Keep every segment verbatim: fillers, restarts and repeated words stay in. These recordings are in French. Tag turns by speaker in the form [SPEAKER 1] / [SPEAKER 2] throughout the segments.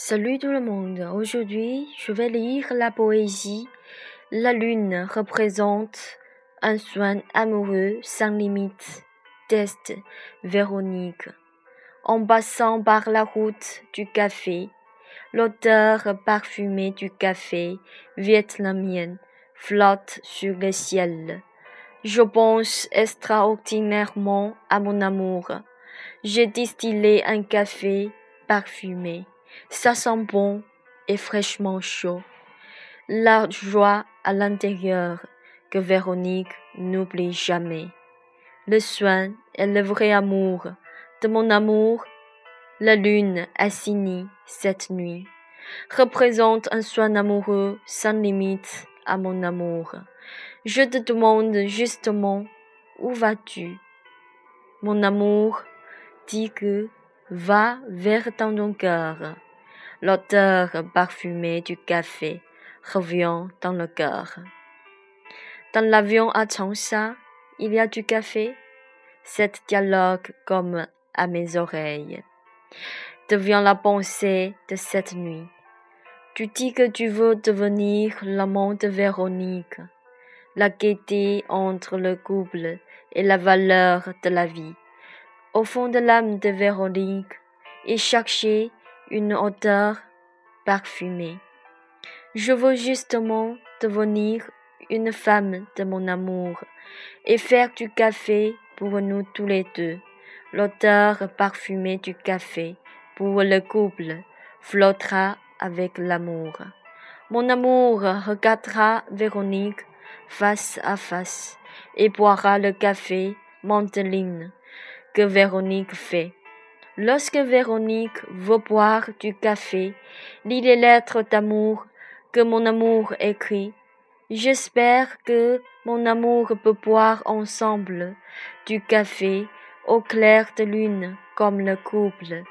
[SPEAKER 1] Salut tout le monde, aujourd'hui je vais lire la poésie. La lune représente un soin amoureux sans limite. Test Véronique. En passant par la route du café, l'odeur parfumée du café vietnamien flotte sur le ciel. Je pense extraordinairement à mon amour. J'ai distillé un café parfumé. Ça sent bon et fraîchement chaud. La joie à l'intérieur que Véronique n'oublie jamais. Le soin et le vrai amour de mon amour, la lune assignée cette nuit, représente un soin amoureux sans limite à mon amour. Je te demande justement, où vas-tu? Mon amour dit que va vers ton cœur. L'odeur parfumée du café revient dans le cœur. Dans l'avion à Changsha, il y a du café. Cet dialogue comme à mes oreilles devient la pensée de cette nuit. Tu dis que tu veux devenir l'amant de Véronique, la gaieté entre le couple et la valeur de la vie. Au fond de l'âme de Véronique, il cherchait une odeur parfumée. Je veux justement devenir une femme de mon amour et faire du café pour nous tous les deux. L'odeur parfumée du café pour le couple flottera avec l'amour. Mon amour regardera Véronique face à face et boira le café Manteline que Véronique fait. Lorsque Véronique veut boire du café, lis les lettres d'amour que mon amour écrit. J'espère que mon amour peut boire ensemble du café au clair de lune comme le couple.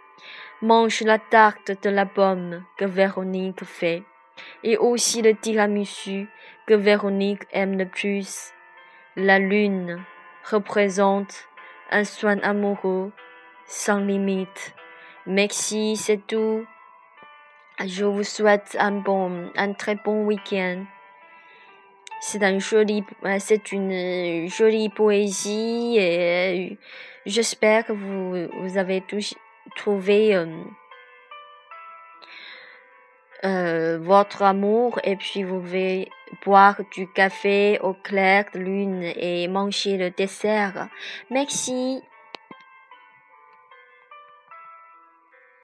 [SPEAKER 1] Mange la tarte de la pomme que Véronique fait et aussi le tiramisu que Véronique aime le plus. La lune représente un soin amoureux sans limite. Merci, c'est tout. Je vous souhaite un bon, un très bon week-end. C'est un joli, c'est une jolie poésie et j'espère que vous, vous avez tous trouvé euh, euh, votre amour et puis vous pouvez boire du café au clair de lune et manger le dessert. Merci.